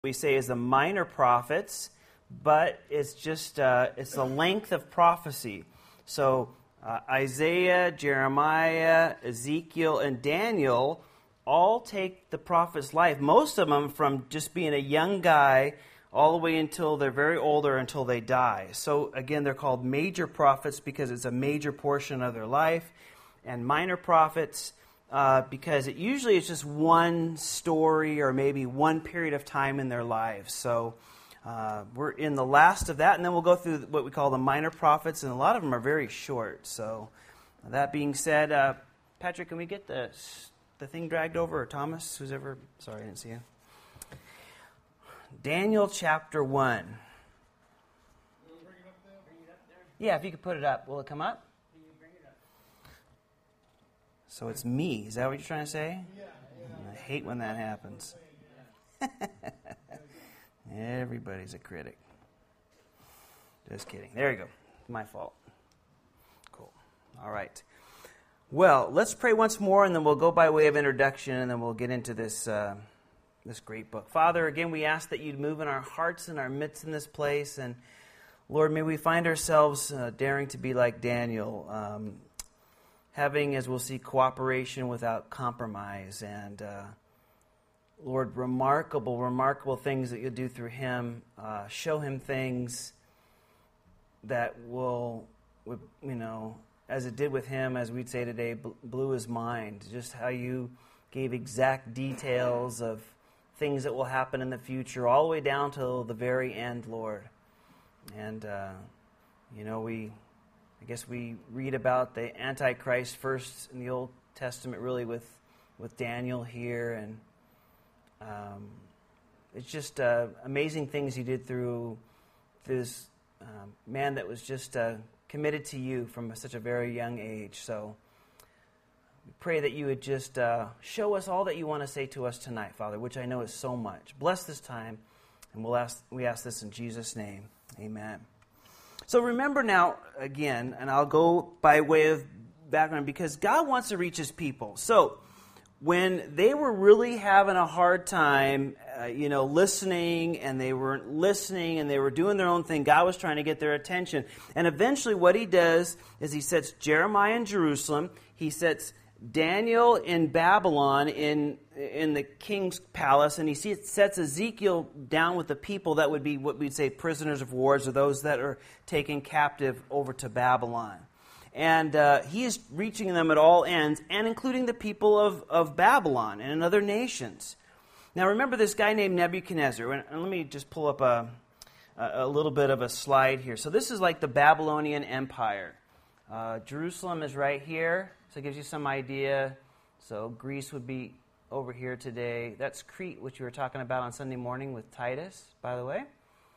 we say is the minor prophets, but it's just it's the length of prophecy. So Isaiah, Jeremiah, Ezekiel, and Daniel all take the prophet's life, most of them from just being a young guy all the way until they're very old or until they die. So again, they're called major prophets because it's a major portion of their life, and minor prophets because it usually is just one story or maybe one period of time in their lives. So we're in the last of that, and then we'll go through what we call the minor prophets, and a lot of them are very short. So that being said, Patrick, can we get the thing dragged over, or Thomas, who's ever... Sorry, I didn't see you. Daniel chapter 1. Yeah, if you could put it up. Will it come up? So it's me. Is that what you're trying to say? Yeah. I hate when that happens. Everybody's a critic. Just kidding. There you go. My fault. Cool. All right. Well, let's pray once more, and then we'll go by way of introduction, and then we'll get into this this great book. Father, again, we ask that you'd move in our hearts and our midst in this place, and Lord, may we find ourselves daring to be like Daniel, having, as we'll see, cooperation without compromise, and Lord, remarkable things that you'll do through him. Show him things that will, as it did with him, as we'd say today, blew his mind. Just how you gave exact details of things that will happen in the future, all the way down till the very end, Lord. And, I guess we read about the Antichrist first in the Old Testament, really, with Daniel here, and it's just amazing things you did through this man that was just committed to you from such a very young age. So we pray that you would just show us all that you want to say to us tonight, Father, which I know is so much. Bless this time, and we ask this in Jesus' name. Amen. So remember now, again, and I'll go by way of background, because God wants to reach his people. So when they were really having a hard time, listening, and they weren't listening, and they were doing their own thing, God was trying to get their attention. And eventually what he does is he sets Jeremiah in Jerusalem, he sets Daniel in Babylon in the king's palace, and he sets Ezekiel down with the people that would be what we'd say prisoners of war, or those that are taken captive over to Babylon. And he is reaching them at all ends, and including the people of Babylon and in other nations. Now remember this guy named Nebuchadnezzar, and let me just pull up a little bit of a slide here. So this is like the Babylonian Empire. Jerusalem is right here, so it gives you some idea. So Greece would be over here today. That's Crete, which we were talking about on Sunday morning with Titus, by the way.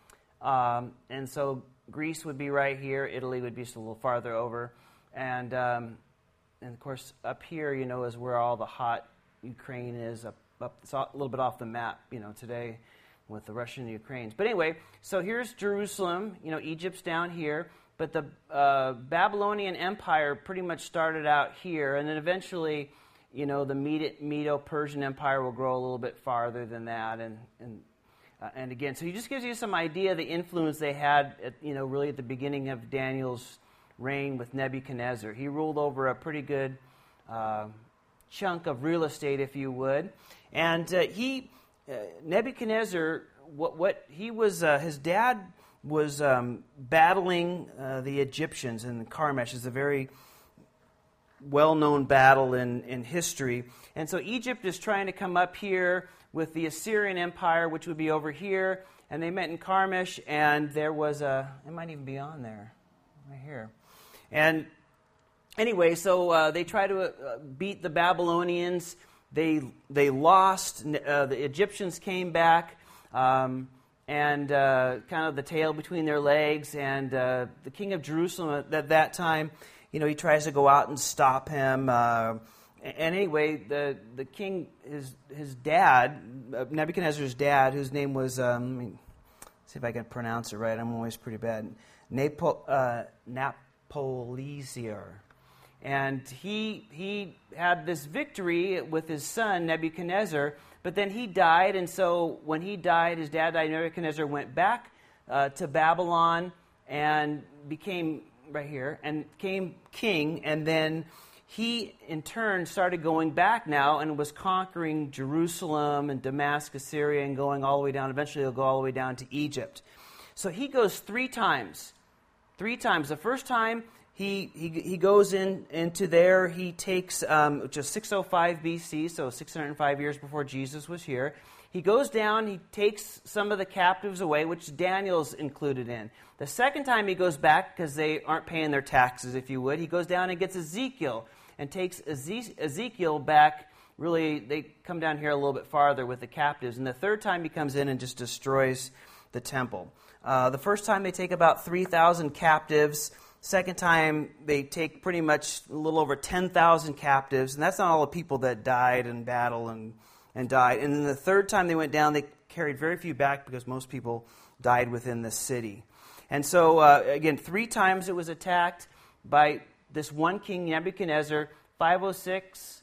And so Greece would be right here. Italy would be just a little farther over. And of course, up here, is where all the hot Ukraine is. Up it's a little bit off the map, today with the Russia and the Ukraine. But anyway, so here's Jerusalem. Egypt's down here. But the Babylonian Empire pretty much started out here, and then eventually, the Medo-Persian Empire will grow a little bit farther than that, and again, so he just gives you some idea of the influence they had, really at the beginning of Daniel's reign with Nebuchadnezzar. He ruled over a pretty good chunk of real estate, if you would, and Nebuchadnezzar, what he was, his dad was battling the Egyptians in Carchemish. Is a very well-known battle in history. And so Egypt is trying to come up here with the Assyrian Empire, which would be over here. And they met in Carchemish, and there was it might even be on there, right here. And anyway, so they try to beat the Babylonians. They lost. The Egyptians came back. And kind of the tail between their legs, and the king of Jerusalem at that time, he tries to go out and stop him. And anyway, the king, his dad, Nebuchadnezzar's dad, whose name was, let me see if I can pronounce it right, I'm always pretty bad, Nabopolassar. And he had this victory with his son, Nebuchadnezzar, but then he died, and so when he died, his dad died, Nebuchadnezzar went back to Babylon and became, right here, and became king, and then he, in turn, started going back now and was conquering Jerusalem and Damascus, Syria, and going all the way down. Eventually, he'll go all the way down to Egypt. So he goes three times. The first time, he goes into there. He takes, which is 605 BC, so 605 years before Jesus was here. He goes down, he takes some of the captives away, which Daniel's included in. The second time he goes back, because they aren't paying their taxes, if you would, he goes down and gets Ezekiel and takes Ezekiel back. Really, they come down here a little bit farther with the captives. And the third time he comes in and just destroys the temple. The first time they take about 3,000 captives. Second time they take pretty much a little over 10,000 captives. And that's not all the people that died in battle and died. And then the third time they went down, they carried very few back because most people died within the city. And so, again, 3 times it was attacked by this one king, Nebuchadnezzar. 506,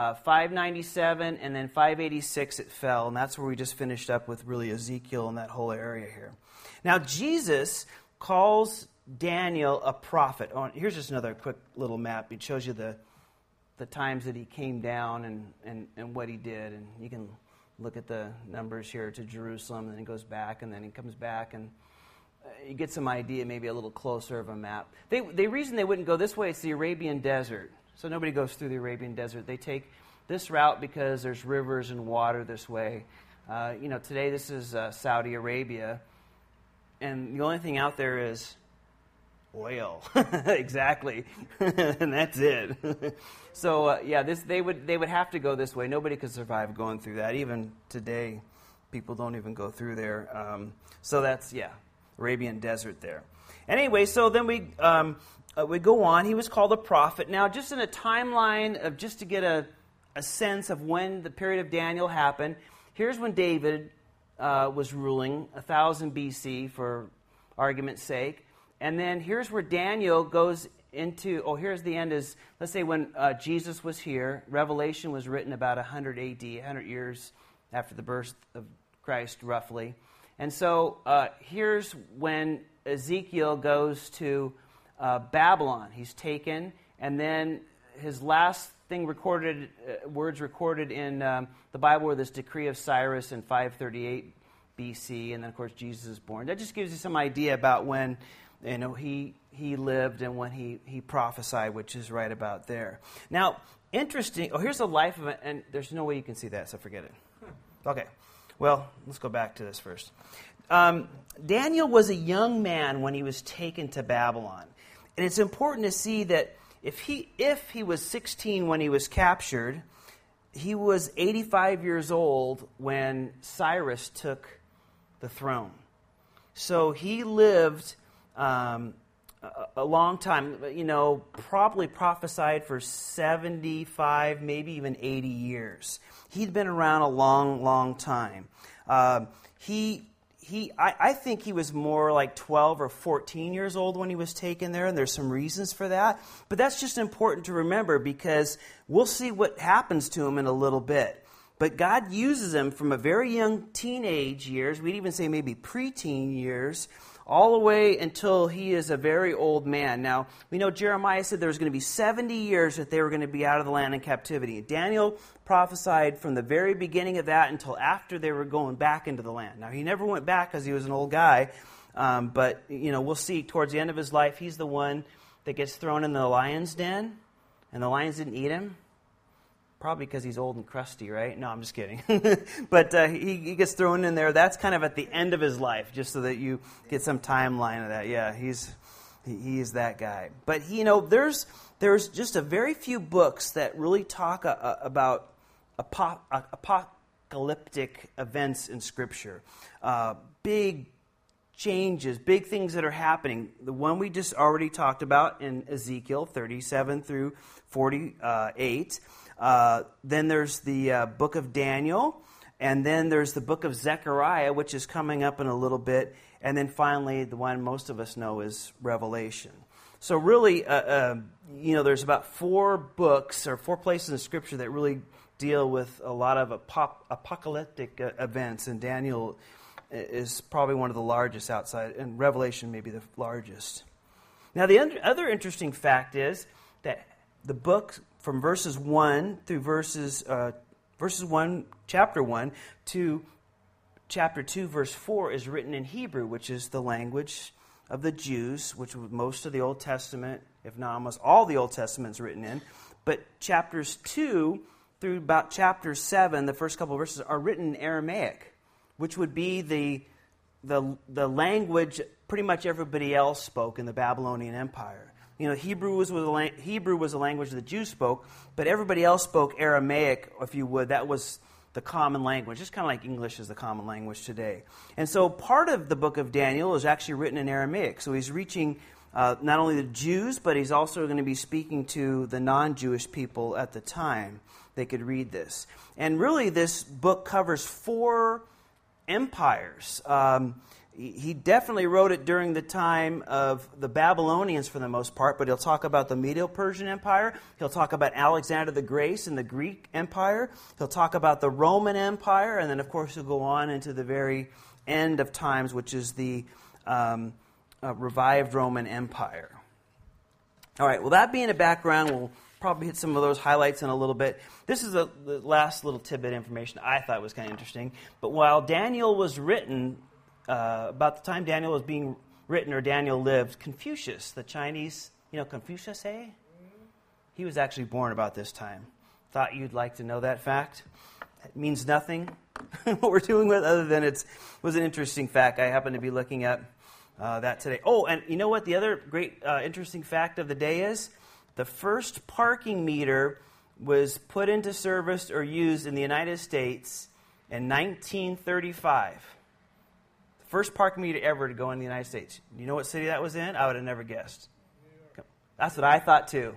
597, and then 586 it fell. And that's where we just finished up with really Ezekiel and that whole area here. Now, Jesus calls Daniel a prophet. Oh, here's just another quick little map. It shows you the times that he came down and what he did. And you can look at the numbers here to Jerusalem, and then he goes back, and then he comes back, and you get some idea, maybe a little closer of a map. The reason they wouldn't go this way, it's the Arabian desert. So nobody goes through the Arabian desert. They take this route because there's rivers and water this way. Today this is Saudi Arabia, and the only thing out there is oil. Exactly. And that's it. So they would have to go this way. Nobody could survive going through that. Even today, people don't even go through there. So that's Arabian desert there. Anyway, so then we go on. He was called a prophet. Now, just in a timeline of just to get a sense of when the period of Daniel happened. Here's when David was ruling, 1000 BC for argument's sake. And then here's where Daniel goes into, here's the end is, let's say when Jesus was here. Revelation was written about 100 AD, 100 years after the birth of Christ, roughly. And so here's when Ezekiel goes to Babylon. He's taken, and then his last thing recorded, words recorded in the Bible were this decree of Cyrus in 538 BC, and then of course Jesus is born. That just gives you some idea about when he lived and when he prophesied, which is right about there. Now, interesting. Here's the life of it, and there's no way you can see that, so forget it. Okay. Well, let's go back to this first. Daniel was a young man when he was taken to Babylon. And it's important to see that if he was 16 when he was captured, he was 85 years old when Cyrus took the throne. So he lived a long time, probably prophesied for 75, maybe even 80 years. He'd been around a long, long time. I think he was more like 12 or 14 years old when he was taken there, and there's some reasons for that. But that's just important to remember because we'll see what happens to him in a little bit. But God uses him from a very young teenage years, we'd even say maybe preteen years, all the way until he is a very old man. Now, we know Jeremiah said there was going to be 70 years that they were going to be out of the land in captivity. Daniel prophesied from the very beginning of that until after they were going back into the land. Now, he never went back because he was an old guy, but, we'll see towards the end of his life, he's the one that gets thrown in the lion's den, and the lions didn't eat him. Probably because he's old and crusty, right? No, I'm just kidding. But he gets thrown in there. That's kind of at the end of his life, just so that you get some timeline of that. Yeah, he is that guy. But, there's just a very few books that really talk about apocalyptic events in Scripture. Big changes, big things that are happening. The one we just already talked about in Ezekiel 37 through 48. Then there's the book of Daniel, and then there's the book of Zechariah, which is coming up in a little bit, and then finally the one most of us know is Revelation. So really, there's about 4 books or 4 places in Scripture that really deal with a lot of apocalyptic events, and Daniel is probably one of the largest outside, and Revelation may be the largest. Now, the other interesting fact is that the book from verses 1 through chapter 1 to chapter 2, verse 4 is written in Hebrew, which is the language of the Jews, which most of the Old Testament, if not almost all the Old Testament, is written in. But chapters 2 through about chapter 7, the first couple of verses, are written in Aramaic, which would be the language pretty much everybody else spoke in the Babylonian Empire. Hebrew was a language the Jews spoke, but everybody else spoke Aramaic, if you would. That was the common language. It's kind of like English is the common language today. And so part of the book of Daniel is actually written in Aramaic. So he's reaching not only the Jews, but he's also going to be speaking to the non-Jewish people at the time. They could read this. And really, this book covers 4 empires. He definitely wrote it during the time of the Babylonians for the most part, but he'll talk about the Medo-Persian Empire. He'll talk about Alexander the Great and the Greek Empire. He'll talk about the Roman Empire, and then, of course, he'll go on into the very end of times, which is the revived Roman Empire. All right, well, that being a background, we'll probably hit some of those highlights in a little bit. This is the last little tidbit information I thought was kind of interesting. But while Daniel was written, about the time Daniel was being written, or Daniel lived, Confucius, the Chinese, Confucius, he was actually born about this time. Thought you'd like to know that fact. It means nothing, what we're dealing with, other than it was an interesting fact. I happened to be looking at that today. Oh, and you know what the other great interesting fact of the day is? The first parking meter was put into service or used in the United States in 1935. First parking meter ever to go in the United States. You know what city that was in? I would have never guessed. That's what I thought too.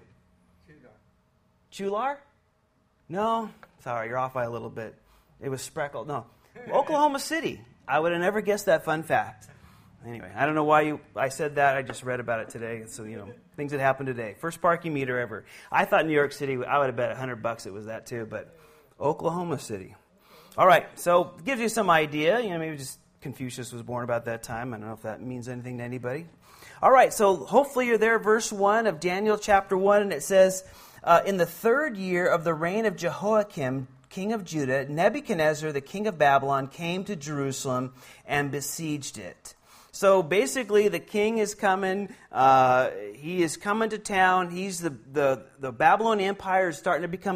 Chular? No? Sorry, you're off by a little bit. It was Spreckled. No. Oklahoma City. I would have never guessed that fun fact. Anyway, I don't know why I said that. I just read about it today. So, things that happened today. First parking meter ever. I thought New York City, I would have bet $100 it was that too, but Oklahoma City. All right, so it gives you some idea. Maybe just Confucius was born about that time. I don't know if that means anything to anybody. All right, so hopefully you're there, verse 1 of Daniel chapter 1, and it says, in the 3rd year of the reign of Jehoiakim, king of Judah, Nebuchadnezzar, the king of Babylon, came to Jerusalem and besieged it. So basically, the king is coming. He is coming to town. He's the Babylonian Empire is starting to become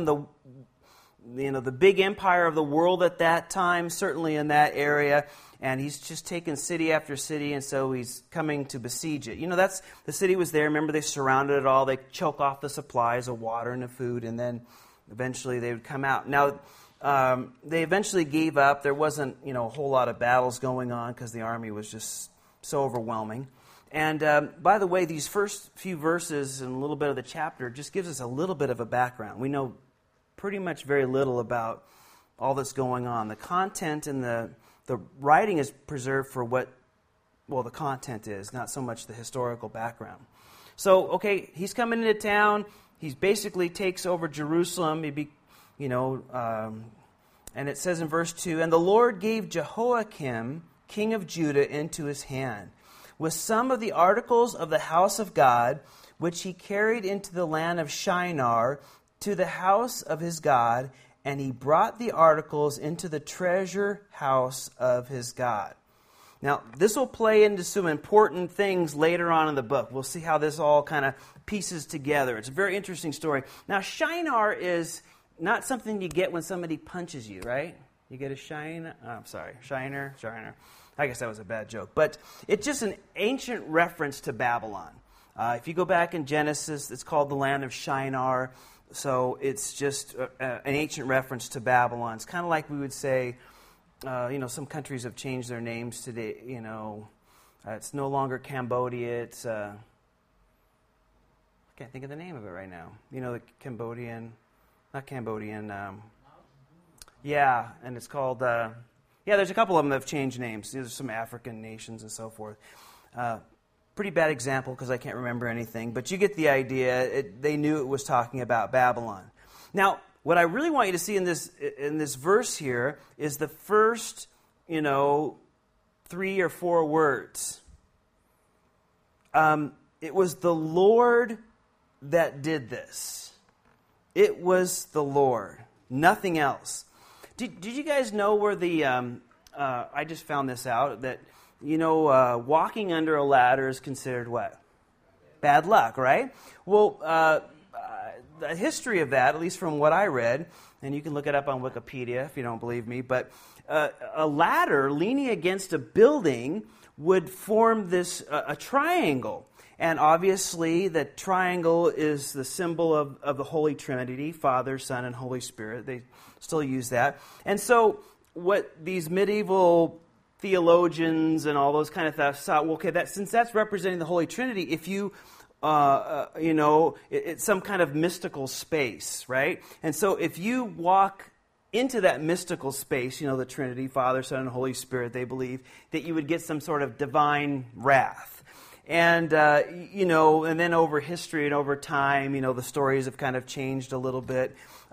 the big empire of the world at that time, certainly in that area. And he's just taken city after city, and so he's coming to besiege it. That's the city was there. Remember, they surrounded it all. They choke off the supplies of water and of food, and then eventually they would come out. Now, they eventually gave up. There wasn't, a whole lot of battles going on because the army was just so overwhelming. And by the way, these first few verses and a little bit of the chapter just gives us a little bit of a background. We know pretty much very little about all that's going on. The content and the writing is preserved for the content is, not so much the historical background. So, okay, he's coming into town. He basically takes over Jerusalem. And it says in verse 2, and the Lord gave Jehoiakim, king of Judah, into his hand, with some of the articles of the house of God, which he carried into the land of Shinar, to the house of his God, and he brought the articles into the treasure house of his God. Now, this will play into some important things later on in the book. We'll see how this all kind of pieces together. It's a very interesting story. Now, Shinar is not something you get when somebody punches you, right? You get a shiner. I guess that was a bad joke. But it's just an ancient reference to Babylon. If you go back in Genesis, it's called the land of Shinar. So it's just an ancient reference to Babylon. It's kind of like we would say, some countries have changed their names today. It's no longer Cambodia. It's, I can't think of the name of it right now. The Cambodian, not Cambodian. And it's called, there's a couple of them that have changed names. There's some African nations and so forth. Pretty bad example because I can't remember anything, but you get the idea. They knew it was talking about Babylon. Now, what I really want you to see in this verse here is the first, 3 or 4 words. It was the Lord that did this. It was the Lord, nothing else. Did you guys know where I just found this out, that, walking under a ladder is considered what? Bad luck, right? Well, the history of that, at least from what I read, and you can look it up on Wikipedia if you don't believe me, but a ladder leaning against a building would form a triangle. And obviously, the triangle is the symbol of the Holy Trinity, Father, Son, and Holy Spirit. They still use that. And so what these medieval theologians and all those kind of stuff saw, since that's representing the Holy Trinity, if you it's some kind of mystical space, right? And so if you walk into that mystical space, the Trinity, Father, Son, and Holy Spirit, they believe that you would get some sort of divine wrath. And, and then over history and over time, the stories have kind of changed a little bit.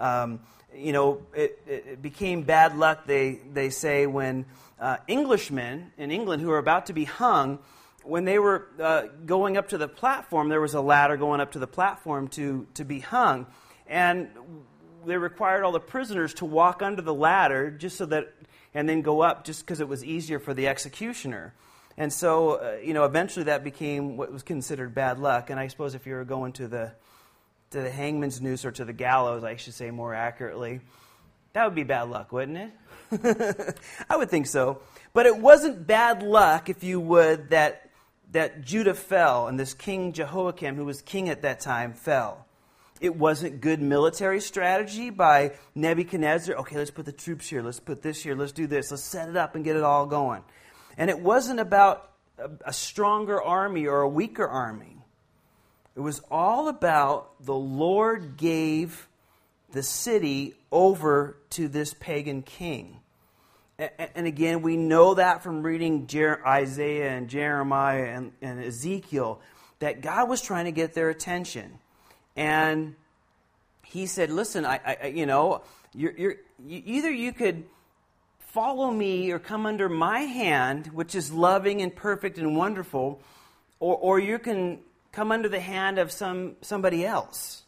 It became bad luck, they say, when Englishmen in England who were about to be hung, when they were going up to the platform, there was a ladder going up to the platform to be hung. And they required all the prisoners to walk under the ladder and then go up just because it was easier for the executioner. And so, eventually that became what was considered bad luck. And I suppose if you were going to the hangman's noose, or to the gallows, I should say more accurately, that would be bad luck, wouldn't it? I would think so. But it wasn't bad luck, if you would, that Judah fell and this King Jehoiakim, who was king at that time, fell. It wasn't good military strategy by Nebuchadnezzar. Okay, let's put the troops here. Let's put this here. Let's do this. Let's set it up and get it all going. And it wasn't about a stronger army or a weaker army. It was all about the Lord gave the city over to this pagan king. And again, we know that from reading Isaiah and Jeremiah and Ezekiel, that God was trying to get their attention. And he said, listen, either you could follow me or come under my hand, which is loving and perfect and wonderful, or you can come under the hand of somebody else.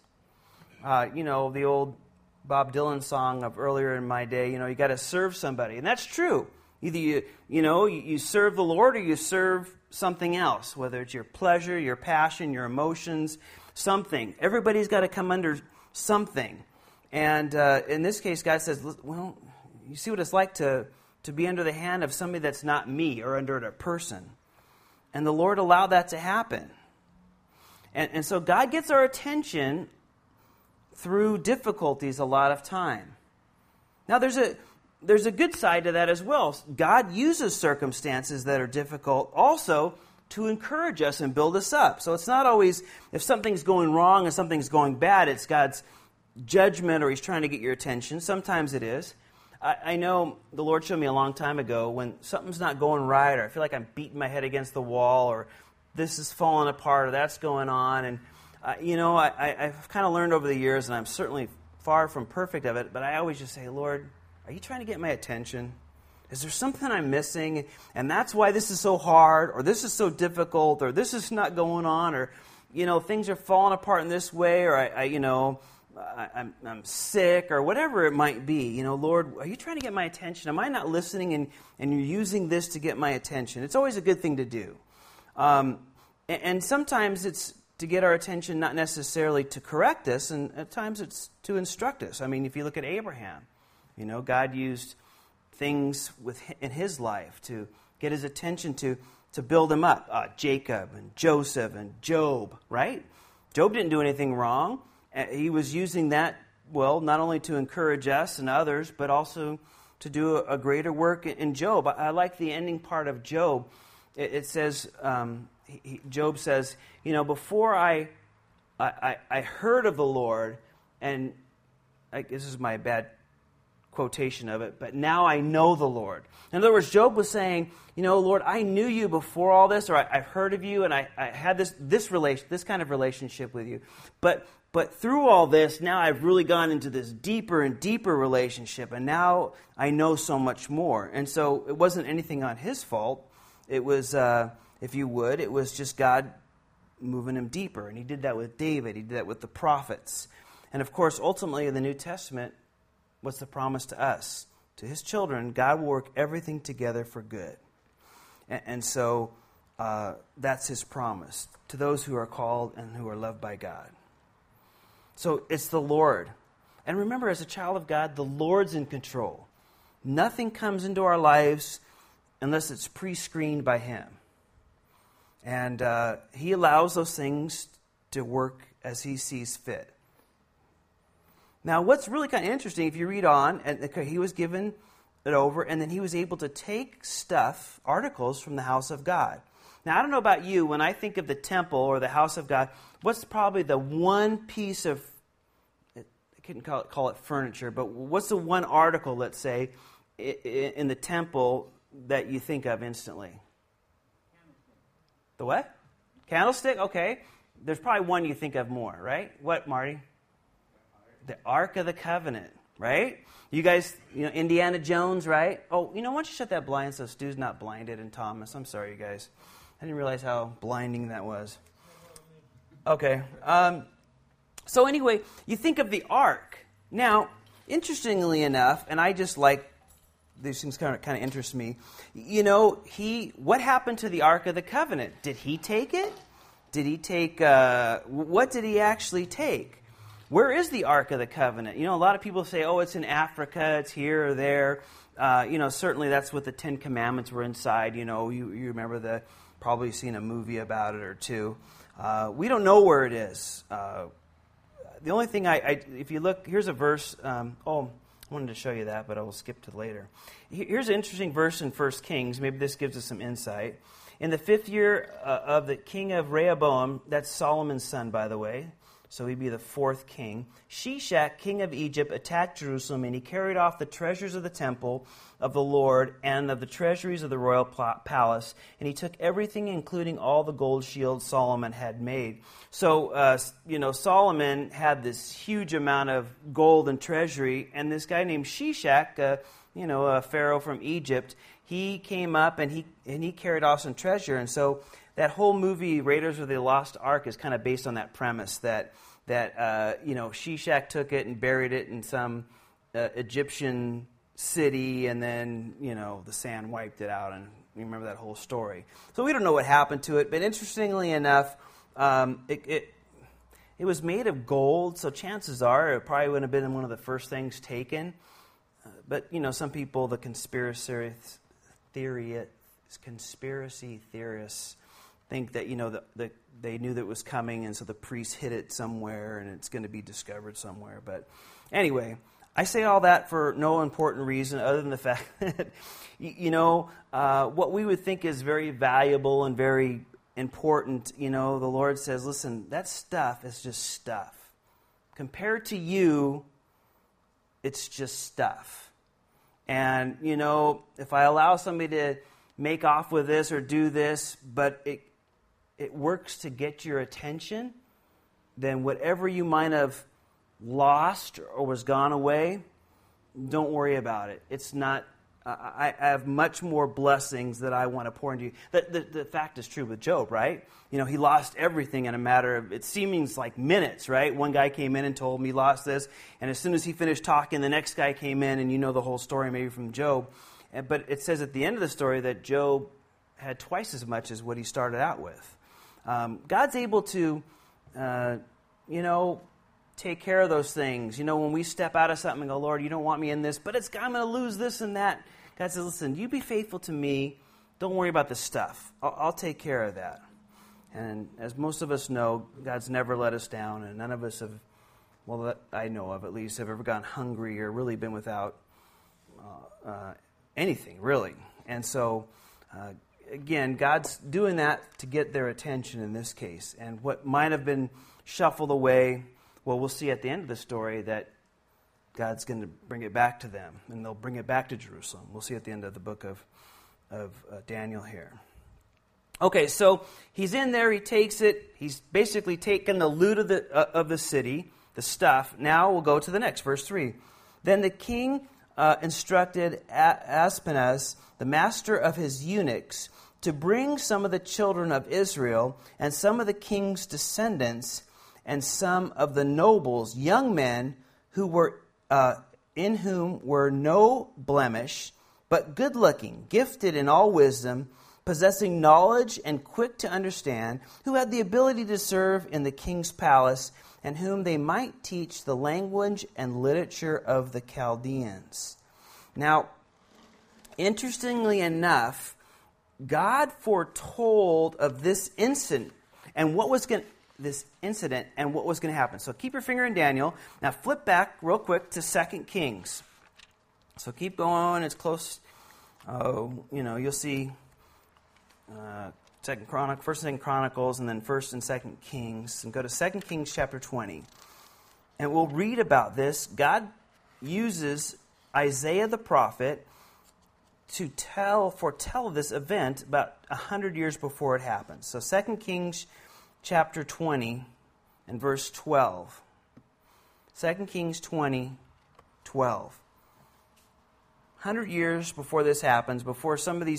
The old Bob Dylan song of earlier in my day, you got to serve somebody. And that's true. Either you serve the Lord or you serve something else, whether it's your pleasure, your passion, your emotions, something. Everybody's got to come under something. And in this case, God says, well, you see what it's like to be under the hand of somebody that's not me, or under a person. And the Lord allowed that to happen. And so God gets our attention through difficulties a lot of time. Now there's a good side to that as well. God uses circumstances that are difficult also to encourage us and build us up. So it's not always, if something's going wrong and something's going bad, it's God's judgment or He's trying to get your attention. Sometimes it is. I know the Lord showed me a long time ago when something's not going right, or I feel like I'm beating my head against the wall, or this is falling apart, or that's going on. And, I've kind of learned over the years, and I'm certainly far from perfect of it, but I always just say, Lord, are you trying to get my attention? Is there something I'm missing? And that's why this is so hard, or this is so difficult, or this is not going on, or, things are falling apart in this way, or I'm sick, or whatever it might be. Lord, are you trying to get my attention? Am I not listening, and you're using this to get my attention? It's always a good thing to do. And sometimes it's to get our attention, not necessarily to correct us, and at times it's to instruct us. I mean, if you look at Abraham, God used things in his life to get his attention, to build him up. Jacob and Joseph and Job, right? Job didn't do anything wrong. He was using that, not only to encourage us and others, but also to do a greater work in Job. I like the ending part of Job. It says, Job says, before I heard of the Lord, and this is my bad quotation of it, but now I know the Lord. In other words, Job was saying, Lord, I knew you before all this, or I've heard of you, and I had this kind of relationship with you. But But through all this, now I've really gone into this deeper and deeper relationship, and now I know so much more. And so it wasn't anything on his fault. It was, if you would, it was just God moving him deeper. And he did that with David. He did that with the prophets. And of course, ultimately in the New Testament, what's the promise to us? To his children, God will work everything together for good. And so that's his promise to those who are called and who are loved by God. So it's the Lord. And remember, as a child of God, the Lord's in control. Nothing comes into our lives unless it's pre-screened by him. And he allows those things to work as he sees fit. Now, what's really kind of interesting, if you read on, and he was given it over, and then he was able to take stuff, articles from the house of God. Now, I don't know about you, when I think of the temple or the house of God, what's probably the one piece of, I couldn't call it furniture, but what's the one article, let's say, in the temple that you think of instantly? The what? Candlestick? Okay. There's probably one you think of more, right? What, Marty? The Ark of the Covenant, right? You guys, Indiana Jones, right? Oh, why don't you shut that blind so Stu's not blinded and Thomas. I'm sorry, you guys. I didn't realize how blinding that was. Okay. So anyway, you think of the Ark. Now, interestingly enough, and I just like, these things kind of interest me. What happened to the Ark of the Covenant? Did he take it? Did he take, what did he actually take? Where is the Ark of the Covenant? A lot of people say, oh, it's in Africa, it's here or there. Certainly that's what the Ten Commandments were inside. You remember probably seen a movie about it or two. We don't know where it is. The only thing if you look, here's a verse. I wanted to show you that, but I will skip to later. Here's an interesting verse in 1 Kings. Maybe this gives us some insight. In the 5th year of the king of Rehoboam, that's Solomon's son, by the way, so he'd be the 4th king, Shishak, king of Egypt, attacked Jerusalem, and he carried off the treasures of the temple of the Lord and of the treasuries of the royal palace, and he took everything, including all the gold shields Solomon had made. So, Solomon had this huge amount of gold and treasury, and this guy named Shishak, a pharaoh from Egypt, he came up and he carried off some treasure. And so that whole movie, Raiders of the Lost Ark, is kind of based on that premise that Shishak took it and buried it in some Egyptian city, and then the sand wiped it out, and you remember that whole story. So we don't know what happened to it, but interestingly enough, it was made of gold, so chances are it probably would have been one of the first things taken. But some people, the conspiracy theorists, think that they knew that it was coming, and so the priests hid it somewhere, and it's going to be discovered somewhere. But anyway, I say all that for no important reason other than the fact that what we would think is very valuable and very important. The Lord says, "Listen, that stuff is just stuff. Compared to you, it's just stuff." And if I allow somebody to make off with this or do this, but it works to get your attention, then whatever you might have lost or was gone away, don't worry about it. It's not, I have much more blessings that I want to pour into you. The fact is true with Job, right? He lost everything in a matter of, it seems like minutes, right? One guy came in and told him he lost this, and as soon as he finished talking, the next guy came in, and the whole story maybe from Job. But it says at the end of the story that Job had twice as much as what he started out with. God's able to, take care of those things. When we step out of something and go, Lord, you don't want me in this, but I'm going to lose this and that. God says, listen, you be faithful to me. Don't worry about the stuff. I'll take care of that. And as most of us know, God's never let us down, and none of us have, that I know of at least, have ever gone hungry or really been without anything, really. And so, again, God's doing that to get their attention in this case. And what might have been shuffled away, we'll see at the end of the story that God's going to bring it back to them, and they'll bring it back to Jerusalem. We'll see at the end of the book of Daniel here. Okay, so he's in there, he takes it, he's basically taken the loot of the city, the stuff. Now we'll go to the next, verse 3. Then the king instructed Aspenaz, the master of his eunuchs, to bring some of the children of Israel and some of the king's descendants and some of the nobles, young men who were in whom were no blemish, but good-looking, gifted in all wisdom, possessing knowledge and quick to understand, who had the ability to serve in the king's palace, and whom they might teach the language and literature of the Chaldeans. Now, interestingly enough, God foretold of this incident and what was going to happen. So keep your finger in Daniel. Now flip back real quick to 2 Kings. So keep going. It's close. You'll see First and 2 Chronicles, and then 1st and 2 Kings, and go to 2 Kings chapter 20. And we'll read about this. God uses Isaiah the prophet to foretell this event about 100 years before it happens. So 2 Kings chapter 20 and verse 12. 2 Kings 20, 12. 100 years before this happens, before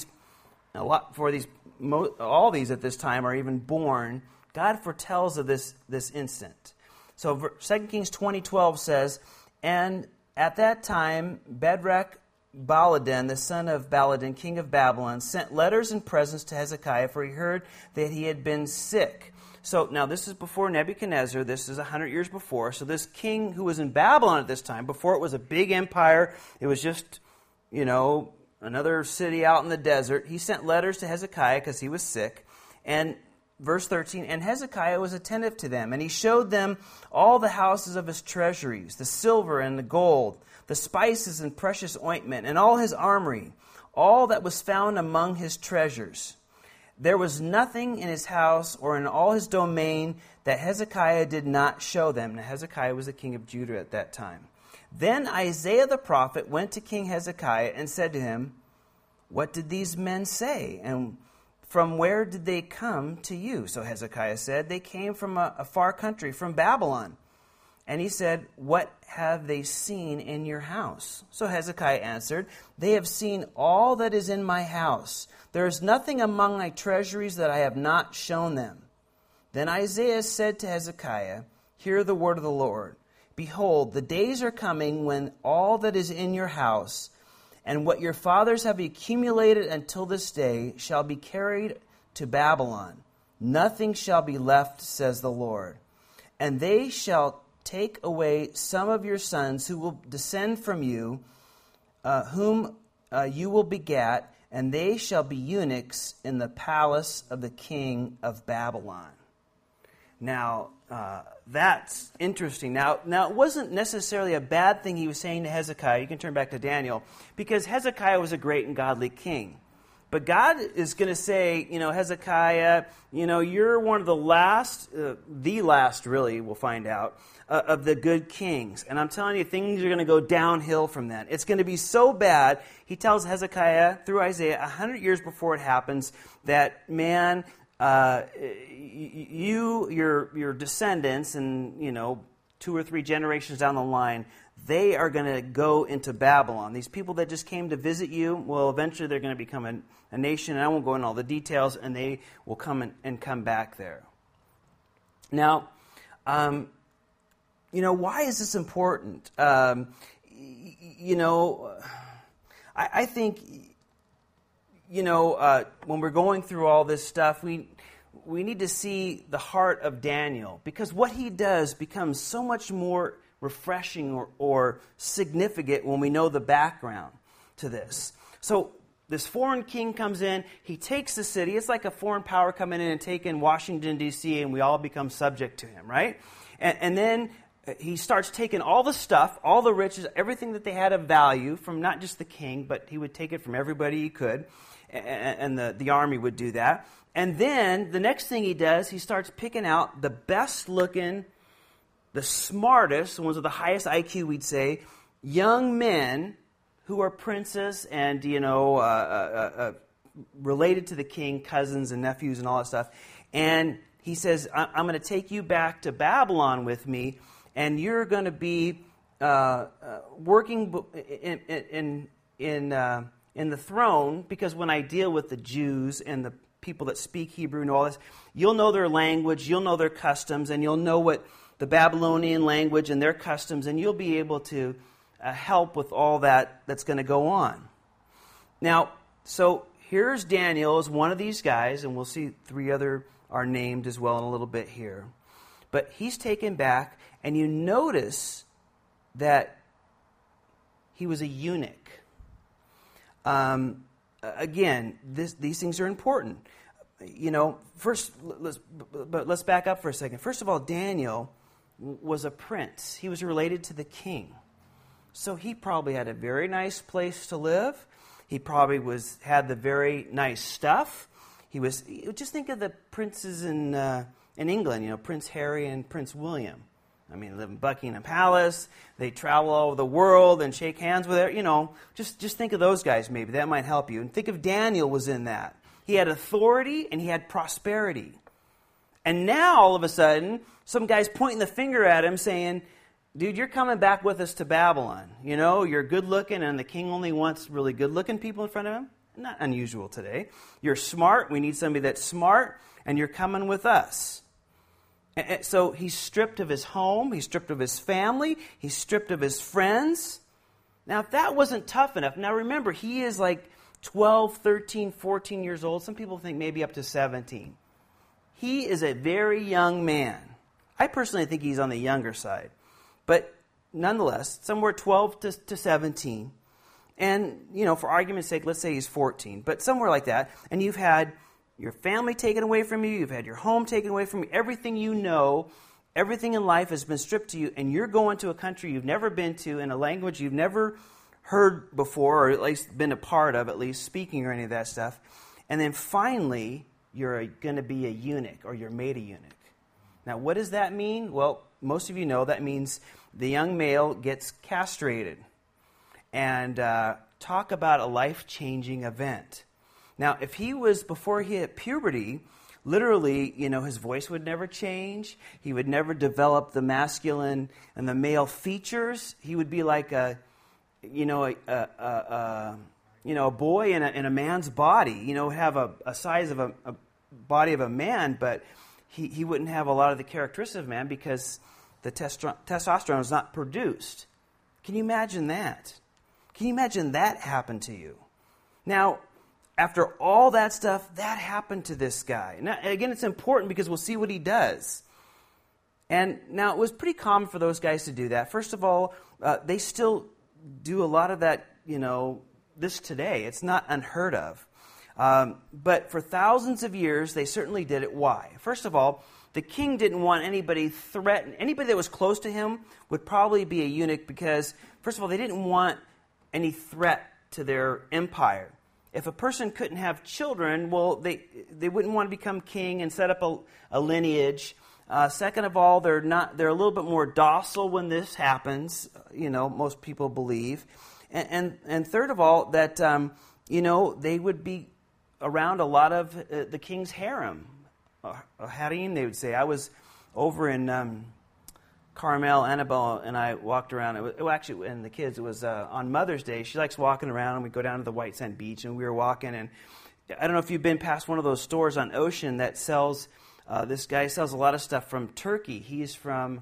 all these at this time are even born, God foretells of this instant. So 2 Kings 20:12 says, "And at that time Shadrach Baladan, the son of Baladan, king of Babylon, sent letters and presents to Hezekiah, for he heard that he had been sick." So now this is before Nebuchadnezzar. This is 100 years before. So this king who was in Babylon at this time, before it was a big empire, it was just, another city out in the desert. He sent letters to Hezekiah because he was sick. And verse 13, "And Hezekiah was attentive to them, and he showed them all the houses of his treasuries, the silver and the gold, the spices and precious ointment, and all his armory, all that was found among his treasures. There was nothing in his house or in all his domain that Hezekiah did not show them." Now Hezekiah was the king of Judah at that time. "Then Isaiah the prophet went to King Hezekiah and said to him, 'What did these men say? And from where did they come to you?' So Hezekiah said, 'They came from a far country, from Babylon.' And he said, 'What have they seen in your house?' So Hezekiah answered, 'They have seen all that is in my house. There is nothing among my treasuries that I have not shown them.' Then Isaiah said to Hezekiah, 'Hear the word of the Lord. Behold, the days are coming when all that is in your house and what your fathers have accumulated until this day shall be carried to Babylon. Nothing shall be left, says the Lord. And they shall take away some of your sons who will descend from you, whom you will begat, and they shall be eunuchs in the palace of the king of Babylon." Now, that's interesting. Now, it wasn't necessarily a bad thing he was saying to Hezekiah. You can turn back to Daniel, because Hezekiah was a great and godly king. But God is going to say, Hezekiah, you're one of the last really, we'll find out, of the good kings. And I'm telling you, things are going to go downhill from that. It's going to be so bad. He tells Hezekiah through Isaiah 100 years before it happens that, man, your descendants and, 2 or 3 generations down the line, they are going to go into Babylon. These people that just came to visit you, well, eventually they're going to become a nation, and I won't go into all the details, and they will come and come back there. Now, why is this important? I think, when we're going through all this stuff, we need to see the heart of Daniel, because what he does becomes so much more refreshing or significant when we know the background to this. So this foreign king comes in, he takes the city. It's like a foreign power coming in and taking Washington, D.C., and we all become subject to him, right? And then he starts taking all the stuff, all the riches, everything that they had of value from not just the king, but he would take it from everybody he could, and the army would do that. And then the next thing he does, he starts picking out the best looking, the smartest, the ones with the highest IQ, we'd say, young men who are princes and, related to the king, cousins and nephews and all that stuff. And he says, I'm going to take you back to Babylon with me, and you're going to be working in the throne, because when I deal with the Jews and the people that speak Hebrew and all this, you'll know their language, you'll know their customs, and you'll know what the Babylonian language and their customs, and you'll be able to help with all that's going to go on. Now, so here's Daniel as one of these guys, and we'll see 3 other are named as well in a little bit here. But he's taken back, and you notice that he was a eunuch. Again, these things are important. First, let's back up for a second. First of all, Daniel was a prince. He was related to the king. So he probably had a very nice place to live. He probably had the very nice stuff. Just think of the princes in England, Prince Harry and Prince William. I mean, they live in Buckingham Palace. They travel all over the world and shake hands with it. Just think of those guys maybe. That might help you. And think of Daniel was in that. He had authority and he had prosperity. And now, all of a sudden, some guy's pointing the finger at him saying, dude, you're coming back with us to Babylon. You're good looking and the king only wants really good looking people in front of him. Not unusual today. You're smart. We need somebody that's smart. And you're coming with us. And so he's stripped of his home. He's stripped of his family. He's stripped of his friends. Now, if that wasn't tough enough, now remember, he is like 12, 13, 14 years old. Some people think maybe up to 17. He is a very young man. I personally think he's on the younger side. But nonetheless, somewhere 12 to 17. And, for argument's sake, let's say he's 14. But somewhere like that. And you've had your family taken away from you. You've had your home taken away from you. Everything you know, everything in life has been stripped to you. And you're going to a country you've never been to in a language you've never heard before, or at least been a part of, at least speaking or any of that stuff. And then finally, you're going to be a eunuch, or you're made a eunuch. Now, what does that mean? Well, most of you know that means the young male gets castrated. And talk about a life-changing event. Now, if he was, before he hit puberty, literally, his voice would never change. He would never develop the masculine and the male features. He would be like a boy in a man's body. Have a size of a body of a man, but he wouldn't have a lot of the characteristics of man because the testosterone is not produced. Can you imagine that? Can you imagine that happened to you? Now, after all that stuff, that happened to this guy. Now, again, it's important because we'll see what he does. And now, it was pretty common for those guys to do that. First of all, they still do a lot of that, this today. It's not unheard of. But for thousands of years, they certainly did it. Why? First of all, the king didn't want anybody threatened. Anybody that was close to him would probably be a eunuch because, first of all, they didn't want any threat to their empire. If a person couldn't have children, well, they wouldn't want to become king and set up a lineage. Second of all, they're a little bit more docile when this happens. Most people believe, and third of all, that they would be around a lot of the king's harem. Harem, they would say. I was over in Carmel, Annabelle, and I walked around. And the kids, it was on Mother's Day. She likes walking around, and we go down to the White Sand Beach, and we were walking, and I don't know if you've been past one of those stores on Ocean that sells, this guy sells a lot of stuff from Turkey. He's from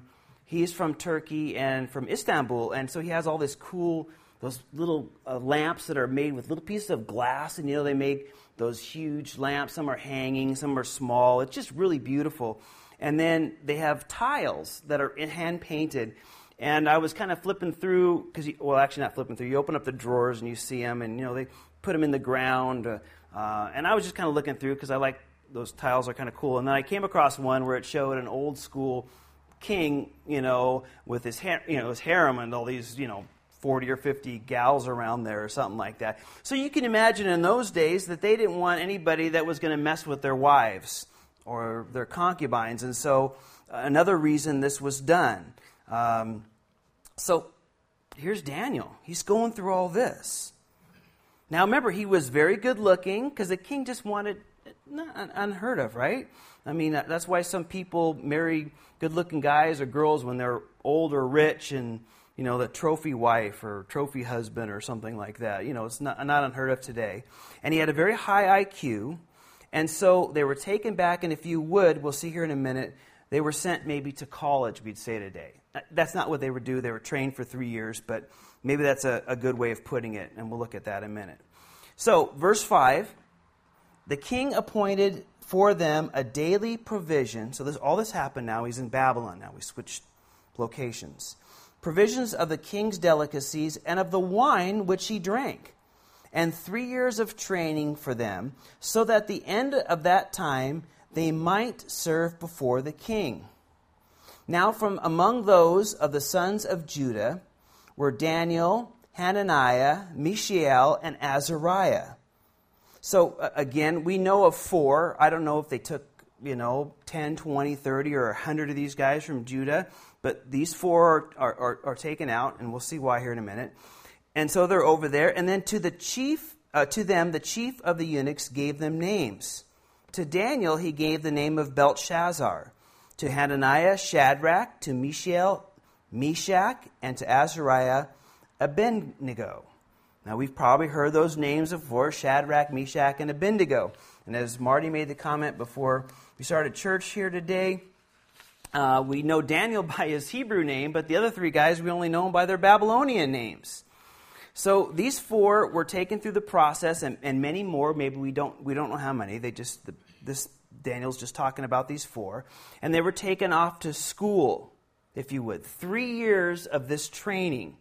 Turkey and from Istanbul, and so he has all this cool, those little lamps that are made with little pieces of glass, and they make those huge lamps. Some are hanging, some are small. It's just really beautiful. And then they have tiles that are hand-painted. And I was kind of flipping through, actually not flipping through. You open up the drawers and you see them, and, they put them in the ground. And I was just kind of looking through because I like those tiles are kind of cool. And then I came across one where it showed an old-school king, with his harem and all these, 40 or 50 gals around there or something like that. So you can imagine in those days that they didn't want anybody that was going to mess with their wives or their concubines. And so another reason this was done. So here's Daniel. He's going through all this. Now remember, he was very good looking because the king just wanted, unheard of, right? I mean, that's why some people marry good looking guys or girls when they're old or rich and, the trophy wife or trophy husband or something like that. It's not unheard of today. And he had a very high IQ. And so they were taken back, and if you would, we'll see here in a minute, they were sent maybe to college, we'd say today. That's not what they would do. They were trained for 3 years, but maybe that's a good way of putting it, and we'll look at that in a minute. So, verse 5, the king appointed for them a daily provision. So all this happened now. He's in Babylon now. We switched locations. Provisions of the king's delicacies and of the wine which he drank, and 3 years of training for them, so that at the end of that time they might serve before the king. Now from among those of the sons of Judah were Daniel, Hananiah, Mishael, and Azariah. So again, we know of 4. I don't know if they took, 10, 20, 30, or 100 of these guys from Judah, but these 4 are taken out, and we'll see why here in a minute. And so they're over there. And then to them, the chief of the eunuchs gave them names. To Daniel, he gave the name of Belteshazzar. To Hananiah, Shadrach. To Mishael, Meshach. And to Azariah, Abednego. Now, we've probably heard those names before, Shadrach, Meshach, and Abednego. And as Marty made the comment before we started church here today, we know Daniel by his Hebrew name, but the other 3 guys, we only know them by their Babylonian names. So these 4 were taken through the process, and many more. Maybe we don't know how many. Daniel's just talking about these 4, and they were taken off to school, if you would. 3 years of this training,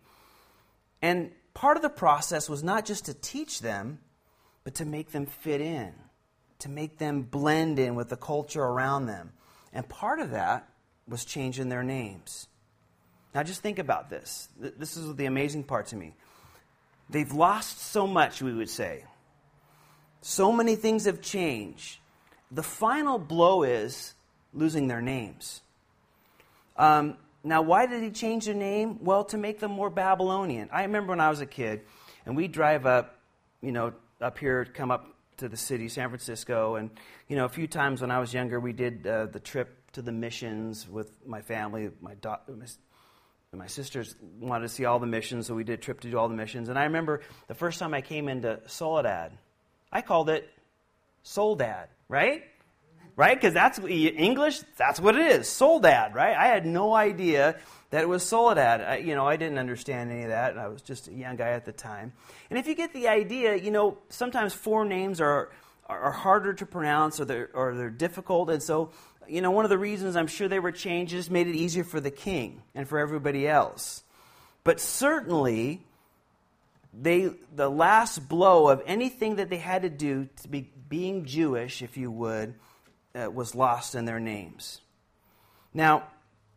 and part of the process was not just to teach them, but to make them fit in, to make them blend in with the culture around them, and part of that was changing their names. Now, just think about this. This is the amazing part to me. They've lost so much, we would say. So many things have changed. The final blow is losing their names. Now, why did he change their name? Well, to make them more Babylonian. I remember when I was a kid, and we'd drive up, up here, come up to the city, San Francisco, and, a few times when I was younger, we did the trip to the missions with my family. My sisters wanted to see all the missions, so we did a trip to do all the missions. And I remember the first time I came into Soledad, I called it Soledad, right? Right? Because that's English, that's what it is, Soledad, right? I had no idea that it was Soledad. I didn't understand any of that. I was just a young guy at the time. And if you get the idea, sometimes 4 names are harder to pronounce or they're difficult. And so, one of the reasons I'm sure they were changed is made it easier for the king and for everybody else. But certainly, the last blow of anything that they had to do to be being Jewish, if you would, was lost in their names. Now,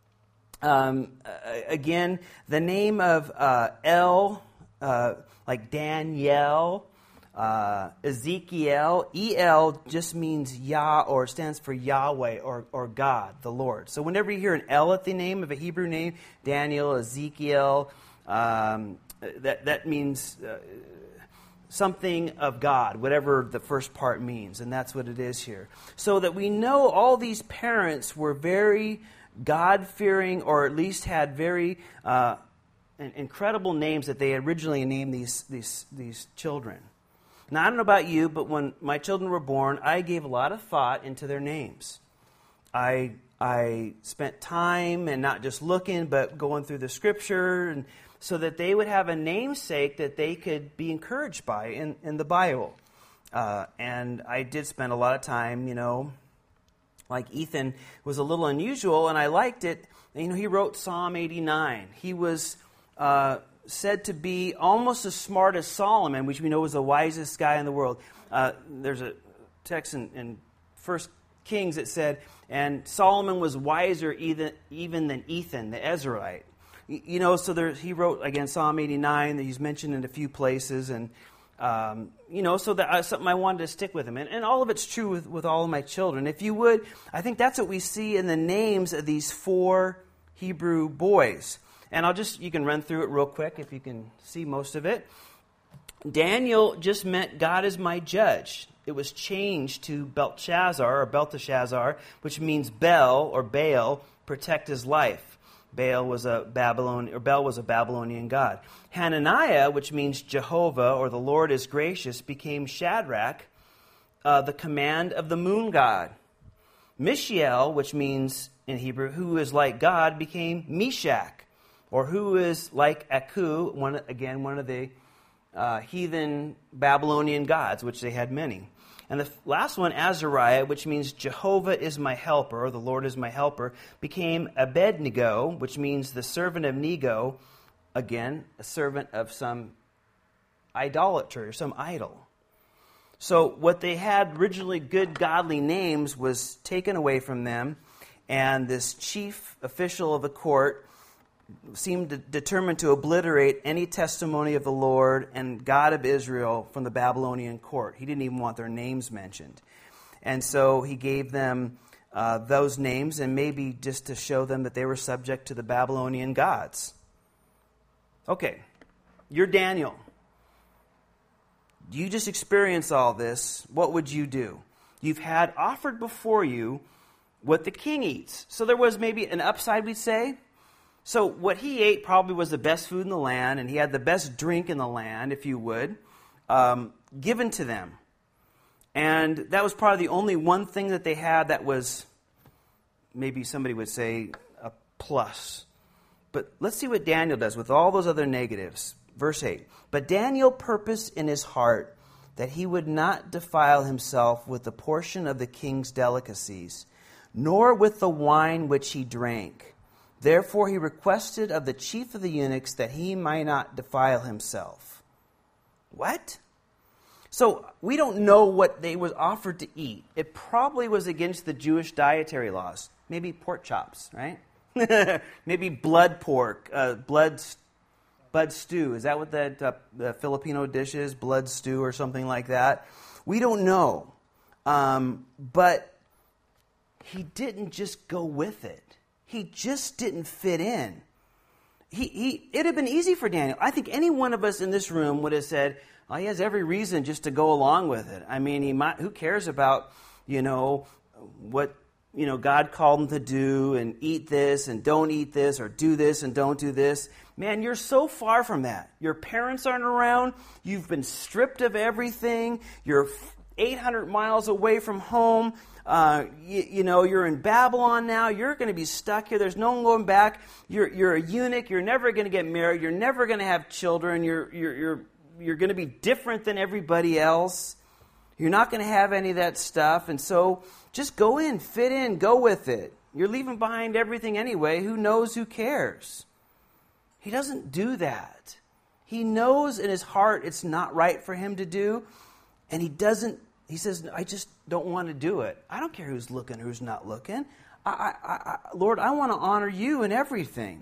again, the name of El, like Daniel, Ezekiel, El just means Yah, or stands for Yahweh or God, the Lord. So whenever you hear an El at the name of a Hebrew name, Daniel, Ezekiel, that means something of God, whatever the first part means, and that's what it is here. So that we know all these parents were very God-fearing, or at least had very incredible names that they originally named these children. Now, I don't know about you, but when my children were born, I gave a lot of thought into their names. I spent time and not just looking, but going through the Scripture, and so that they would have a namesake that they could be encouraged by in the Bible. And I did spend a lot of time, like Ethan was a little unusual, and I liked it. He wrote Psalm 89. He was said to be almost as smart as Solomon, which we know was the wisest guy in the world. There's a text in 1 Kings that said, and Solomon was wiser even than Ethan, the Ezraite. So he wrote, again, Psalm 89, that he's mentioned in a few places, and, so that's something I wanted to stick with him. And all of it's true with all of my children. If you would, I think that's what we see in the names of these 4 Hebrew boys. And you can run through it real quick if you can see most of it. Daniel just meant God is my judge. It was changed to Belteshazzar, which means Bel or Baal, protect his life. Bel was a Babylonian god. Hananiah, which means Jehovah or the Lord is gracious, became Shadrach, the command of the moon god. Mishael, which means in Hebrew, who is like God, became Meshach, or who is like Aku, one of the heathen Babylonian gods, which they had many. And the last one, Azariah, which means Jehovah is my helper, or the Lord is my helper, became Abednego, which means the servant of Nego, again, a servant of some idolater, some idol. So what they had originally good godly names was taken away from them, and this chief official of the court seemed determined to obliterate any testimony of the Lord and God of Israel from the Babylonian court. He didn't even want their names mentioned. And so he gave them those names, and maybe just to show them that they were subject to the Babylonian gods. Okay, you're Daniel. You just experience all this. What would you do? You've had offered before you what the king eats. So there was maybe an upside, we'd say. So what he ate probably was the best food in the land, and he had the best drink in the land, if you would, given to them. And that was probably the only one thing that they had that was, maybe somebody would say, a plus. But let's see what Daniel does with all those other negatives. Verse 8, but Daniel purposed in his heart that he would not defile himself with the portion of the king's delicacies, nor with the wine which he drank. Therefore he requested of the chief of the eunuchs that he might not defile himself. What? So we don't know what they was offered to eat. It probably was against the Jewish dietary laws. Maybe pork chops, right? Maybe blood pork, blood stew. Is that what the Filipino dish is? Blood stew or something like that? We don't know. But he didn't just go with it. He just didn't fit in. It'd have been easy for Daniel. I think any one of us in this room would have said, well, he has every reason just to go along with it. I mean, who cares about, what, God called him to do and eat this and don't eat this or do this and don't do this. Man, you're so far from that. Your parents aren't around. You've been stripped of everything. You're 800 miles away from home. You're in Babylon now. You're going to be stuck here. There's no one going back. You're a eunuch. You're never going to get married. You're never going to have children. You're going to be different than everybody else. You're not going to have any of that stuff. And so just go in, fit in, go with it. You're leaving behind everything anyway. Who knows? Who cares? He doesn't do that. He knows in his heart it's not right for him to do, and he doesn't. He says, I just don't want to do it. I don't care who's looking, who's not looking. Lord, I want to honor you in everything.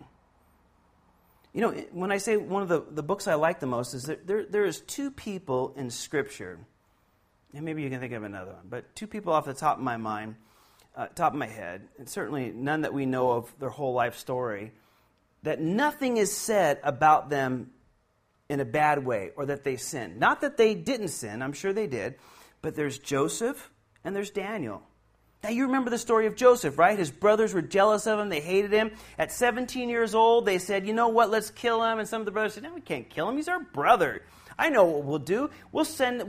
When I say one of the books I like the most is that there is two people in Scripture, and maybe you can think of another one, but two people off the top of my mind, top of my head, and certainly none that we know of their whole life story, that nothing is said about them in a bad way or that they sinned. Not that they didn't sin, I'm sure they did, but there's Joseph and there's Daniel. Now you remember the story of Joseph, right? His brothers were jealous of him. They hated him. At 17 years old, they said, you know what, let's kill him. And some of the brothers said, no, we can't kill him. He's our brother. I know what we'll do. We'll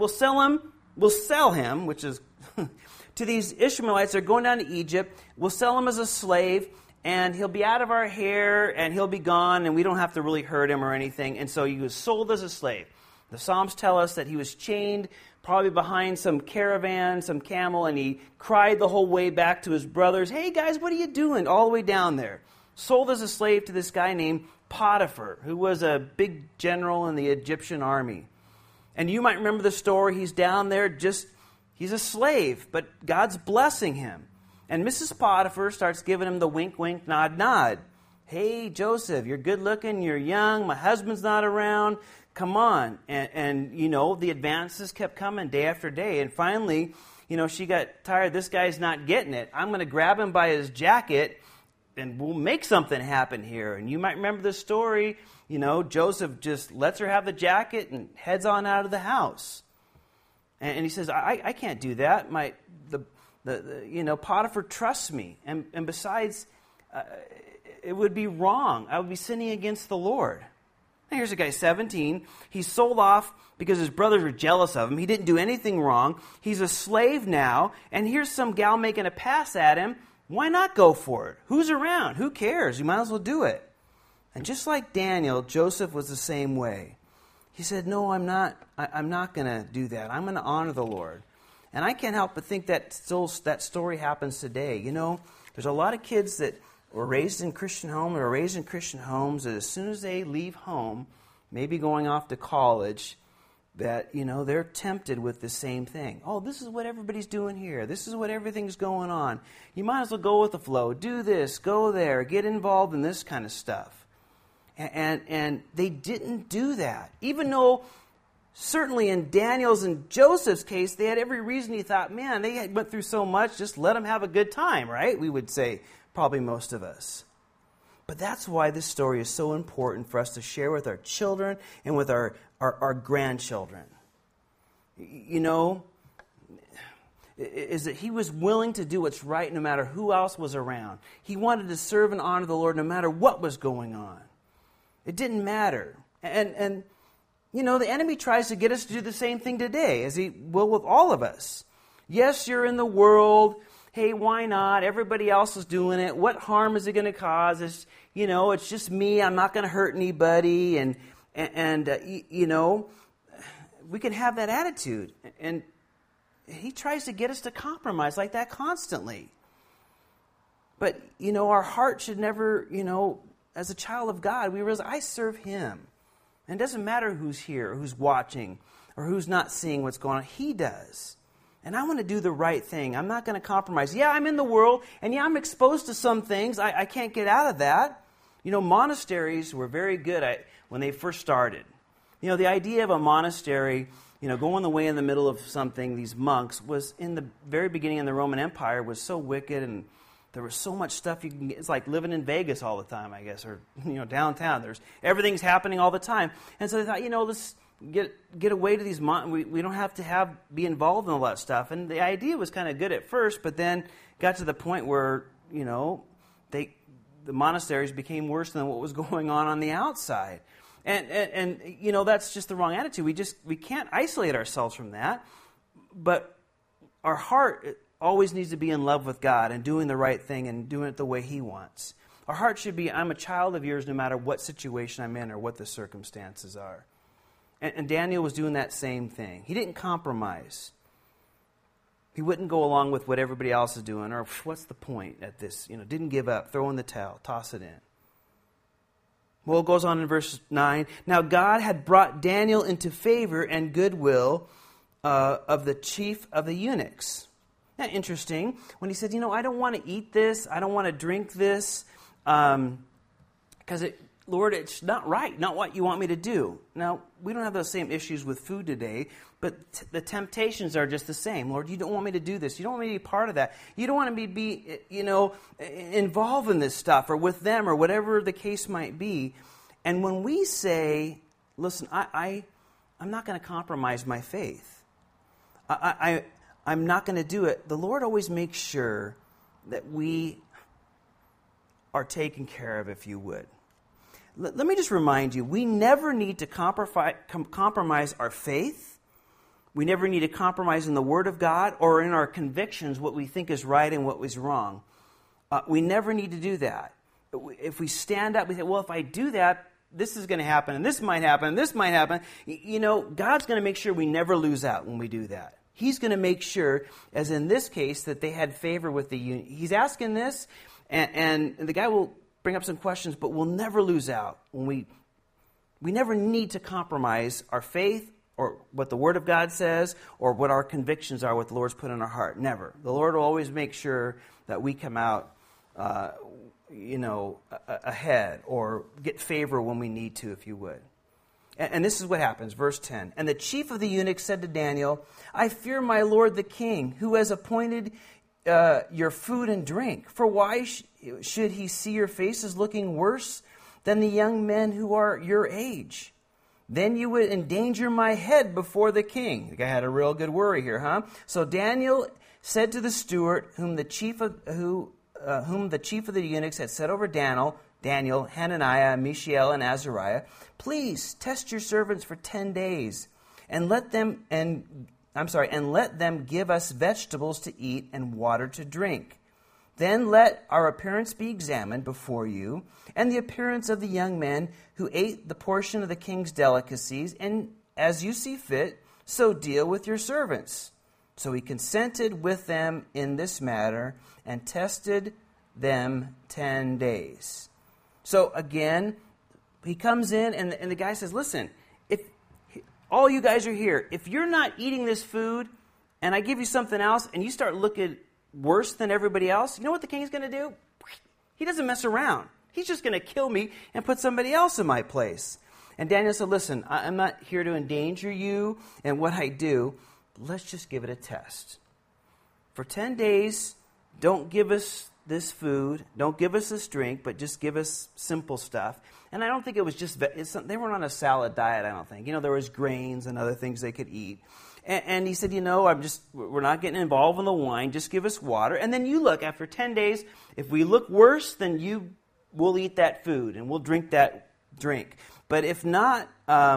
sell him, which is to these Ishmaelites. They're going down to Egypt. We'll sell him as a slave, and he'll be out of our hair, and he'll be gone, and we don't have to really hurt him or anything. And so he was sold as a slave. The Psalms tell us that he was chained probably behind some caravan, some camel, and he cried the whole way back to his brothers, hey guys, what are you doing? All the way down there. Sold as a slave to this guy named Potiphar, who was a big general in the Egyptian army. And you might remember the story. He's down there he's a slave, but God's blessing him. And Mrs. Potiphar starts giving him the wink, wink, nod, nod. Hey, Joseph, you're good looking, you're young, my husband's not around. Come on. And the advances kept coming day after day. And finally, she got tired. This guy's not getting it. I'm going to grab him by his jacket and we'll make something happen here. And you might remember the story, Joseph just lets her have the jacket and heads on out of the house. And he says, I can't do that. Potiphar trusts me. And besides, it would be wrong. I would be sinning against the Lord. Now here's a guy, 17. He's sold off because his brothers were jealous of him. He didn't do anything wrong. He's a slave now. And here's some gal making a pass at him. Why not go for it? Who's around? Who cares? You might as well do it. And just like Daniel, Joseph was the same way. He said, no, I'm not going to do that. I'm going to honor the Lord. And I can't help but think that that story happens today. There's a lot of kids that were raised in Christian homes or raised in Christian homes that as soon as they leave home, maybe going off to college, that, they're tempted with the same thing. Oh, this is what everybody's doing here. This is what everything's going on. You might as well go with the flow. Do this, go there, get involved in this kind of stuff. And they didn't do that. Even though certainly in Daniel's and Joseph's case, they had every reason. He thought, man, they went through so much, just let them have a good time, right? We would say, probably most of us. But that's why this story is so important for us to share with our children and with our grandchildren. Is that he was willing to do what's right no matter who else was around. He wanted to serve and honor the Lord no matter what was going on. It didn't matter. And the enemy tries to get us to do the same thing today, as he will with all of us. Yes, you're in the world. Hey, why not? Everybody else is doing it. What harm is it going to cause? It's just me. I'm not going to hurt anybody. And we can have that attitude. And he tries to get us to compromise like that constantly. But, our heart should never, as a child of God, we realize I serve him. And it doesn't matter who's here, or who's watching, or who's not seeing what's going on. He does. And I want to do the right thing. I'm not going to compromise. Yeah, I'm in the world, and yeah, I'm exposed to some things. I can't get out of that. Monasteries were very good when they first started. The idea of a monastery, going the way in the middle of something, these monks, was in the very beginning in the Roman Empire, was so wicked, and there was so much stuff you can get. It's like living in Vegas all the time, I guess, or downtown. Everything's happening all the time. And so they thought, let's get away to these we don't have to be involved in all that stuff. And the idea was kind of good at first, but then got to the point where the monasteries became worse than what was going on the outside. And that's just the wrong attitude. We can't isolate ourselves from that. But our heart always needs to be in love with God and doing the right thing and doing it the way he wants. Our heart should be, I'm a child of yours no matter what situation I'm in or what the circumstances are. And Daniel was doing that same thing. He didn't compromise. He wouldn't go along with what everybody else is doing, or what's the point at this? Didn't give up, throw in the towel, toss it in. Well, it goes on in verse 9. Now God had brought Daniel into favor and goodwill of the chief of the eunuchs. Now, interesting, when he said, I don't want to eat this, I don't want to drink this, because Lord, it's not right, not what you want me to do. Now, we don't have those same issues with food today, but the temptations are just the same. Lord, you don't want me to do this. You don't want me to be part of that. You don't want me to be, involved in this stuff or with them or whatever the case might be. And when we say, listen, I'm not going to compromise my faith. I'm not going to do it. The Lord always makes sure that we are taken care of, if you would. Let me just remind you, we never need to compromise our faith. We never need to compromise in the Word of God or in our convictions what we think is right and what was wrong. We never need to do that. If we stand up, we say, well, if I do that, this is going to happen, and this might happen, and this might happen. God's going to make sure we never lose out when we do that. He's going to make sure, as in this case, that they had favor with the eunuch. He's asking this, and the guy will bring up some questions, but we'll never lose out when we never need to compromise our faith or what the Word of God says or what our convictions are, what the Lord's put in our heart. Never. The Lord will always make sure that we come out, ahead or get favor when we need to, if you would. And this is what happens, verse 10. And the chief of the eunuchs said to Daniel, I fear my lord the king, who has appointed your food and drink. For why should he see your faces looking worse than the young men who are your age? Then you would endanger my head before the king. The guy had a real good worry here, huh? So Daniel said to the steward, whom the chief of the eunuchs had set over Daniel, Hananiah, Mishael, and Azariah, please test your servants for 10 days, and let them give us vegetables to eat and water to drink. Then let our appearance be examined before you, and the appearance of the young men who ate the portion of the king's delicacies, and as you see fit, so deal with your servants. So he consented with them in this matter, and tested them 10 days. So again, he comes in, and the guy says, listen, if all you guys are here, if you're not eating this food, and I give you something else, and you start looking worse than everybody else, you know what the king's going to do? He doesn't mess around. He's just going to kill me and put somebody else in my place. And Daniel said, listen, I'm not here to endanger you and what I do. Let's just give it a test. For 10 days, don't give us this food, don't give us this drink, but just give us simple stuff. And I don't think it was just, they weren't on a salad diet, I don't think. There was grains and other things they could eat. And he said, we're not getting involved in the wine. Just give us water. And then you look, after 10 days, if we look worse, then we'll eat that food and we'll drink that drink. But if not,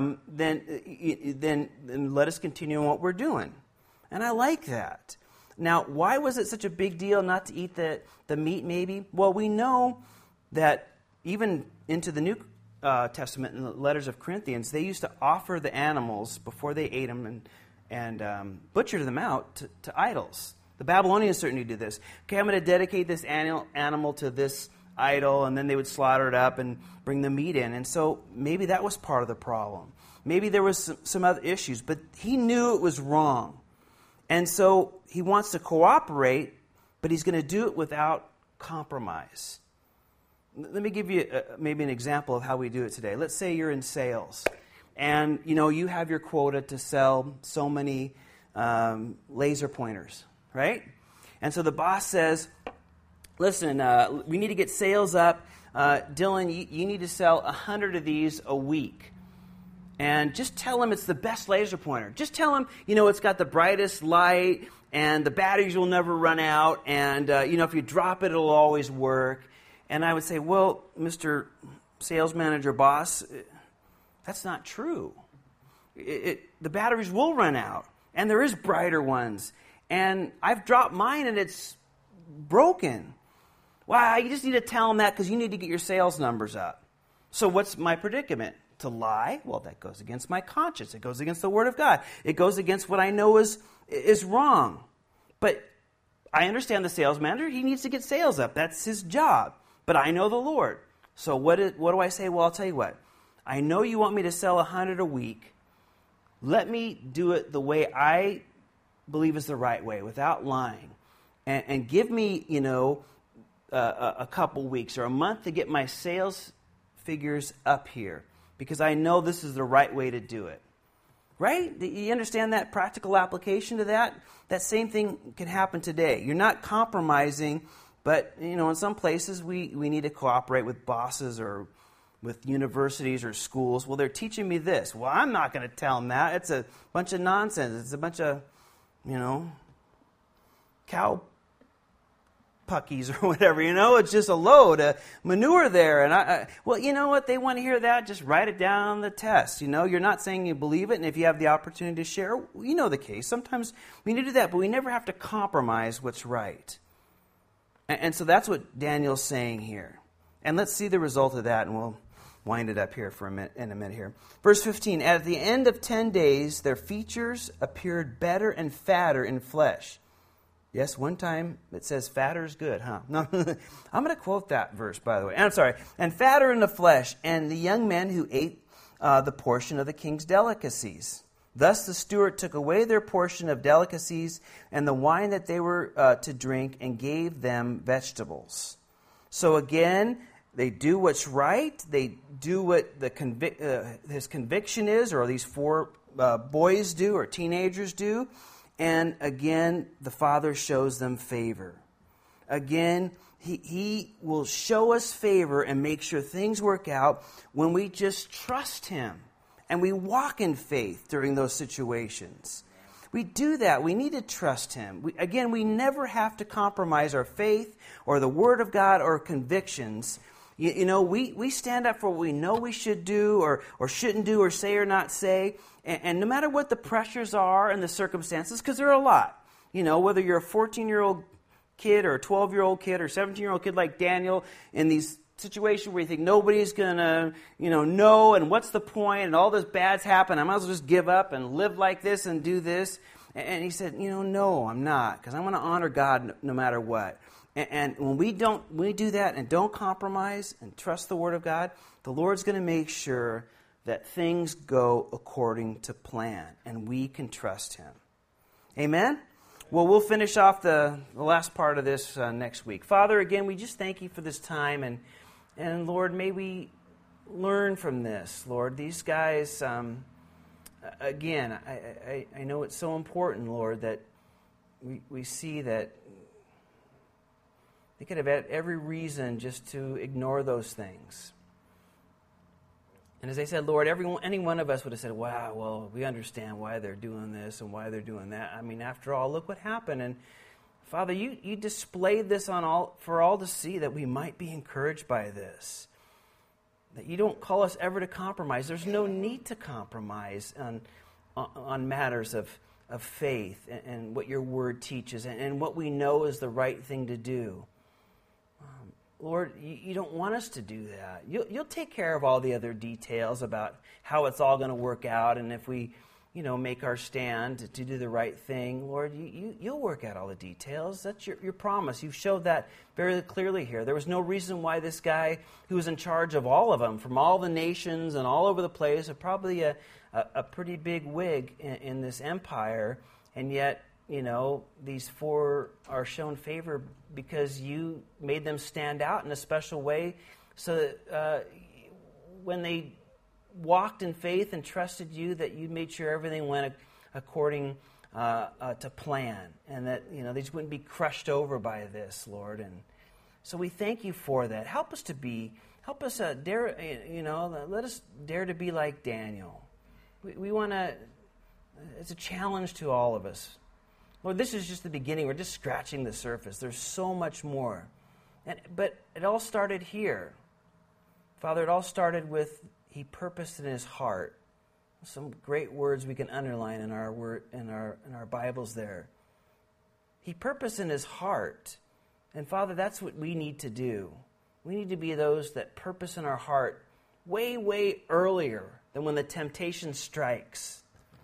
then let us continue on what we're doing. And I like that. Now, why was it such a big deal not to eat the meat maybe? Well, we know that even into the New Testament, in the letters of Corinthians, they used to offer the animals before they ate them and butcher them out to idols. The Babylonians certainly did this. Okay, I'm going to dedicate this animal to this idol, and then they would slaughter it up and bring the meat in. And so maybe that was part of the problem. Maybe there was some other issues, but he knew it was wrong. And so he wants to cooperate, but he's going to do it without compromise. Let me give you maybe an example of how we do it today. Let's say you're in sales. And, you have your quota to sell so many laser pointers, right? And so the boss says, listen, we need to get sales up. Dylan, you need to sell 100 of these a week. And just tell him it's the best laser pointer. Just tell him, it's got the brightest light, and the batteries will never run out, and, if you drop it, it'll always work. And I would say, well, Mr. Sales Manager Boss, that's not true. The batteries will run out, and there is brighter ones. And I've dropped mine, and it's broken. Well, you just need to tell them that because you need to get your sales numbers up. So what's my predicament? To lie? Well, that goes against my conscience. It goes against the Word of God. It goes against what I know is wrong. But I understand the sales manager. He needs to get sales up. That's his job. But I know the Lord. So what do I say? Well, I'll tell you what. I know you want me to sell 100 a week. Let me do it the way I believe is the right way, without lying. And give me, a couple weeks or a month to get my sales figures up here, because I know this is the right way to do it. Right? You understand that practical application to that? That same thing can happen today. You're not compromising, but, in some places we need to cooperate with bosses or with universities or schools. Well, they're teaching me this. Well, I'm not going to tell them that. It's a bunch of nonsense. It's a bunch of, cow puckies or whatever, It's just a load of manure there. And well, you know what? They want to hear that. Just write it down on the test. You're not saying you believe it, and if you have the opportunity to share, the case. Sometimes we need to do that, but we never have to compromise what's right. And so that's what Daniel's saying here. And let's see the result of that, and we'll wind it up here in a minute here. Verse 15, at the end of 10 days, their features appeared better and fatter in flesh. Yes, one time it says fatter is good, huh? No, I'm going to quote that verse, by the way. I'm sorry. And fatter in the flesh, and the young men who ate the portion of the king's delicacies. Thus the steward took away their portion of delicacies and the wine that they were to drink, and gave them vegetables. So again, they do what's right. They do what his conviction is, or these four boys do, or teenagers do. and again, the Father shows them favor. Again, He will show us favor and make sure things work out when we just trust Him and we walk in faith during those situations. We do that. We need to trust Him. We never have to compromise our faith or the Word of God or convictions. We stand up for what we know we should do or shouldn't do or say or not say. And no matter what the pressures are and the circumstances, because there are a lot. Whether you're a 14-year-old kid or a 12-year-old kid or 17-year-old kid like Daniel in these situations where you think nobody's going to, know, and what's the point, and all this bad's happen, I might as well just give up and live like this and do this. And he said, no, I'm not, because I want to honor God no matter what. And when we do that and don't compromise and trust the Word of God, the Lord's going to make sure that things go according to plan, and we can trust Him. Amen? Well, we'll finish off the last part of this next week. Father, again, we just thank You for this time, and Lord, may we learn from this. Lord, these guys, again, I know it's so important, Lord, that we see that they could have had every reason just to ignore those things. And as I said, Lord, any one of us would have said, wow, well, we understand why they're doing this and why they're doing that. I mean, after all, look what happened. And Father, you displayed this for all to see, that we might be encouraged by this. That You don't call us ever to compromise. There's no need to compromise on matters of faith and what Your Word teaches and what we know is the right thing to do. Lord, You don't want us to do that. You'll take care of all the other details about how it's all going to work out, and if we, make our stand to do the right thing, Lord, You'll work out all the details. That's your promise. You've showed that very clearly here. There was no reason why this guy who was in charge of all of them, from all the nations and all over the place, probably a pretty big wig in this empire, and yet, these four are shown favor because You made them stand out in a special way, so that when they walked in faith and trusted You, that You made sure everything went according to plan, and that they just wouldn't be crushed over by this, Lord. And so we thank You for that. Help us dare, let us dare to be like Daniel. We want to. It's a challenge to all of us. Lord, this is just the beginning. We're just scratching the surface. There's so much more. But it all started here. Father, it all started with He purposed in His heart. Some great words we can underline in our Bibles there. He purposed in His heart. And Father, that's what we need to do. We need to be those that purpose in our heart way, way earlier than when the temptation strikes.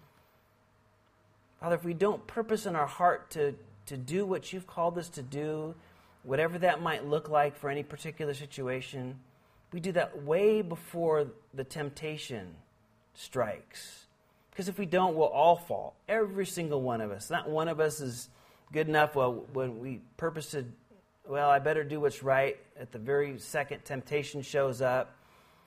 Father, if we don't purpose in our heart to do what You've called us to do, whatever that might look like for any particular situation, we do that way before the temptation strikes. Because if we don't, we'll all fall. Every single one of us. Not one of us is good enough. Well, when we purpose to, I better do what's right, at the very second temptation shows up,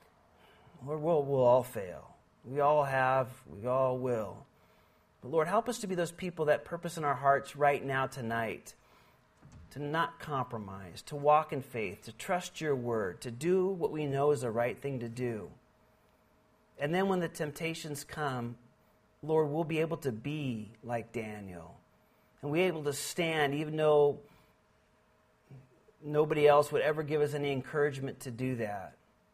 we'll all fail. We all have, we all will. But Lord, help us to be those people that purpose in our hearts right now, tonight, to not compromise, to walk in faith, to trust Your Word, to do what we know is the right thing to do. And then when the temptations come, Lord, we'll be able to be like Daniel. And we'll be able to stand even though nobody else would ever give us any encouragement to do that.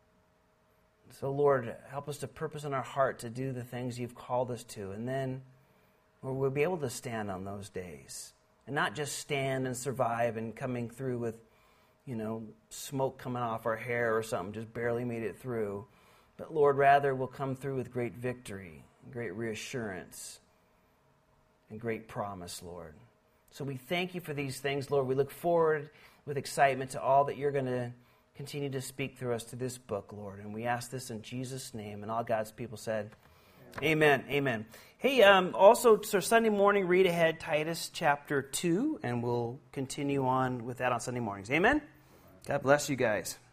So Lord, help us to purpose in our heart to do the things You've called us to. And then we'll be able to stand on those days. And not just stand and survive and coming through with, smoke coming off our hair or something, just barely made it through. But Lord, rather we'll come through with great victory, great reassurance, and great promise, Lord. So we thank You for these things, Lord. We look forward with excitement to all that You're going to continue to speak through us to this book, Lord. And we ask this in Jesus' name. And all God's people said, Amen. Amen. Hey, also, so Sunday morning, read ahead Titus chapter 2, and we'll continue on with that on Sunday mornings. Amen? God bless you guys.